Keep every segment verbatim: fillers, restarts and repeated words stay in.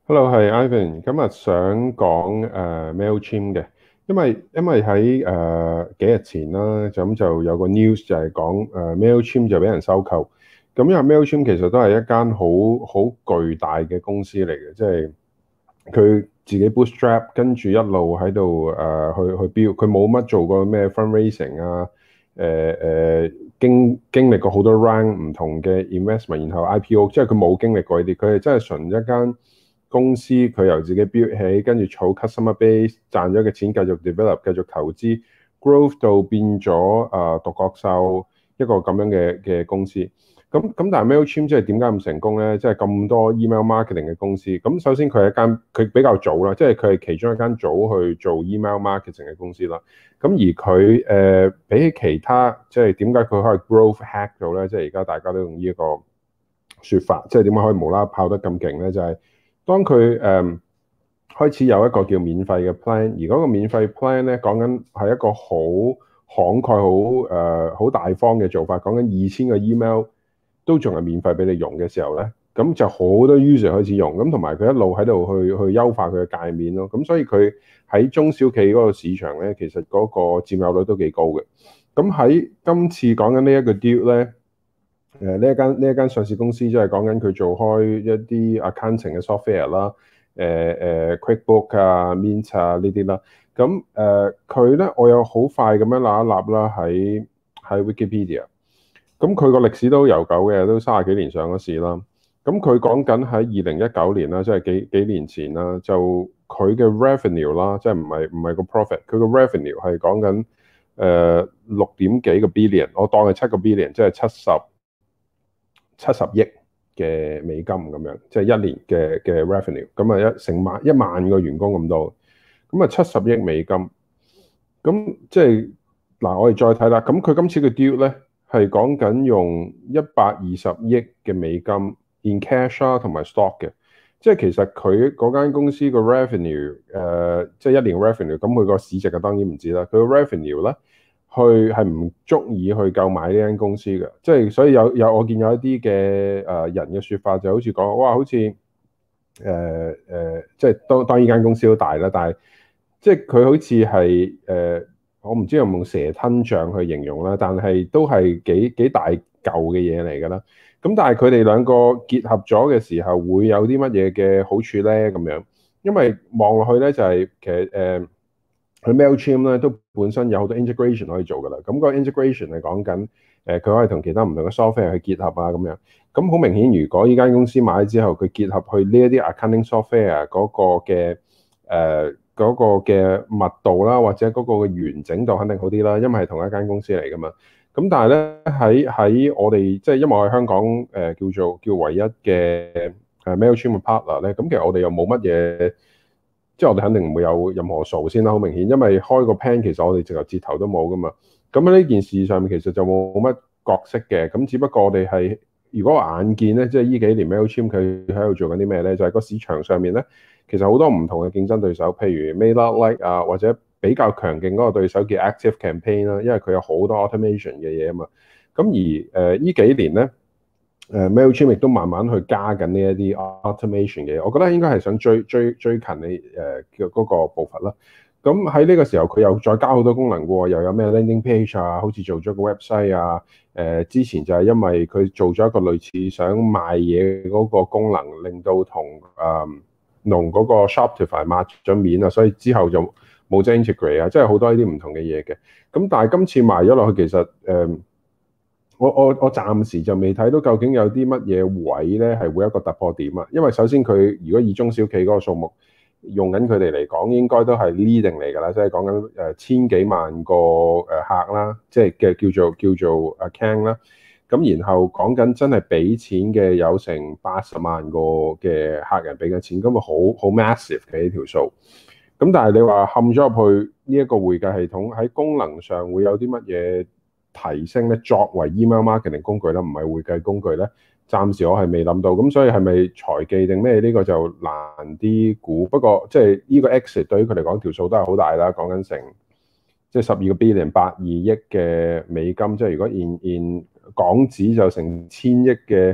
Hello，係 Ivan，今日想講誒 Mailchimp 嘅，因為因為喺誒、呃、幾日前啦，就咁就有個 news 就係講誒 Mailchimp 就俾人收購，咁因為 Mailchimp 其實都係一間好好巨大嘅公司嚟嘅，即係佢自己 bootstrap 跟住一路喺度誒去去 build，佢冇乜做過咩 fundraising 啊，誒、誒經經歷過好多 round 唔同嘅 investment，然後 I P O，即係佢冇經歷過呢啲，佢係真係純一間公司，佢由自己 build 起，跟住儲 customer base，賺咗嘅錢繼續 develop，繼續投資，growth 到變咗啊獨角獸一個咁樣嘅嘅公司。咁咁但係 Mailchimp 即係點解咁成功咧？即係咁多 email marketing 嘅公司。咁首先佢係一間佢比較早啦，即係佢係其中一間早去做 email marketing 嘅公司啦。咁而佢誒、呃、比起其他，即係點解佢可以 growth hack 到咧？即係而家大家都用呢一個説法，即係點解可以無啦啦跑得咁勁咧？就係、是、當佢誒、呃、開始有一個叫免費嘅 plan，而嗰個免費 plan 咧講緊係一個好慷慨、好誒好大方嘅做法，講緊二千個 email。都仲係免費俾你用嘅時候咧，咁就好多 user 開始用，咁同埋佢一路喺度去去優化佢嘅界面咯，咁所以佢喺中小企嗰個市場咧，其實嗰個佔有率都幾高嘅。咁喺今次講緊呢一個 deal 咧，誒呢一間呢一間上市公司即係講緊佢做開一啲 accounting 嘅 software 啦，誒誒 QuickBook 啊、Mint 啊呢啲啦，咁誒佢咧我有好快咁樣揦一揦啦喺喺 Wikipedia。咁佢個歷史都悠久嘅，都三十幾年上咗市啦。咁佢講緊喺二零一九年啦，即係幾幾年前啦，就佢嘅 revenue 啦，即係唔係唔係個 profit，佢個 revenue 係講緊誒六點幾個 billion，我當係七個 billion，即係七十七十億嘅美金咁樣，即係一年嘅嘅 revenue。咁啊一成萬一萬個員工咁多，咁啊七十億美金。咁即係嗱，我哋再睇啦。咁佢今次嘅 deal 咧。係講緊用一百二十億嘅美金 in cash 啊，同埋 stock 嘅，即係其實佢嗰間公司個 revenue 誒、呃，即係一年 revenue，咁佢個市值啊當然唔知啦。佢個 revenue 咧，去係唔足以去購買呢間公司嘅，即係所以有有我見有一啲嘅誒人嘅説法就好似講，哇，好似誒誒，即係當當呢間公司好大啦，但係即係佢好似係誒。我唔知有冇用蛇吞象去形容啦，但係都係幾幾大嚿嘅嘢嚟㗎啦。咁但係佢哋兩個結合咗嘅時候，會有啲乜嘢嘅好處咧？咁樣，因為望落去咧就係、是、其實誒，佢、呃、Mailchimp 咧都本身有好多 integration 可以做㗎啦。咁、那個 integration 係講緊誒，佢、呃、可以同其他唔同嘅 software 去結合啊咁樣。咁好明顯，如果呢間公司買咗之後，佢結合去呢一啲 accounting software 嗰個嘅誒。呃嗰個嘅密度啦，或者嗰個嘅完整度肯定好啲啦，因為係同一間公司嚟噶嘛。咁但係咧喺喺我哋即係因為我喺香港誒、呃、叫做叫唯一嘅誒 Mailchimp 嘅 partner 咧，咁其實我哋又冇乜嘢，即係我哋肯定唔會有任何數先啦，好明顯，因為開個 plan 其實我哋直頭折頭都冇噶嘛。咁喺呢件事上面其實就冇乜角色嘅，咁只不過我哋係如果眼見咧，即係呢幾年 Mailchimp 佢喺度做緊啲咩咧，就係、是、個市場上面咧。其實好多唔同嘅競爭對手，譬如 MailerLite 啊，或者比較強勁嗰個對手叫 ActiveCampaign 啦，因為佢有好多 automation 嘅嘢啊嘛。咁而誒呢、呃、幾年咧，誒 Mailchimp 亦都慢慢去加緊呢一啲 automation 嘅嘢。我覺得應該係想追追追近你誒嘅嗰個步伐啦。咁喺呢個時候，佢又再加好多功能喎，又有咩 landing page 啊，好似做咗個 website 啊。誒、呃、之前就係因為佢做咗一個類似想賣嘢嗰個功能，令到同誒。呃同嗰個 Shopify 抹咗面啊，所以之後就冇咗 integrate 啊，即係好多呢啲唔同嘅嘢嘅。咁但係今次賣咗落去，其實誒、呃，我我我暫時就未睇到究竟有啲乜嘢位咧係會一個突破點啊。因為首先佢如果以中小企嗰個數目用緊佢哋嚟講，應該都係 leading 嚟㗎啦，即係講緊誒千幾萬個誒客啦，即係嘅叫做叫做 account 啦。咁然後講緊真係俾錢嘅有成八十萬個嘅客人俾緊錢，咁啊好好 massive 嘅呢條數。咁但係你話冚咗入去呢一個會計系統喺功能上會有啲乜嘢提升咧？作為 email marketing 工具啦，唔係會計工具咧，暫時我係未諗到。咁所以係咪財技定咩？呢個就難啲估。不過即係呢個 exit 對於佢嚟講條數都係好大啦，講緊成即係十二個 billion 八二億嘅美金，即係如果 in in 港紙就成千億嘅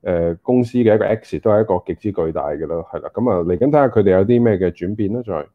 誒公司嘅一個 exit 都係一個極之巨大嘅咯，係啦。咁啊嚟緊睇下佢哋有啲咩嘅轉變啦，再。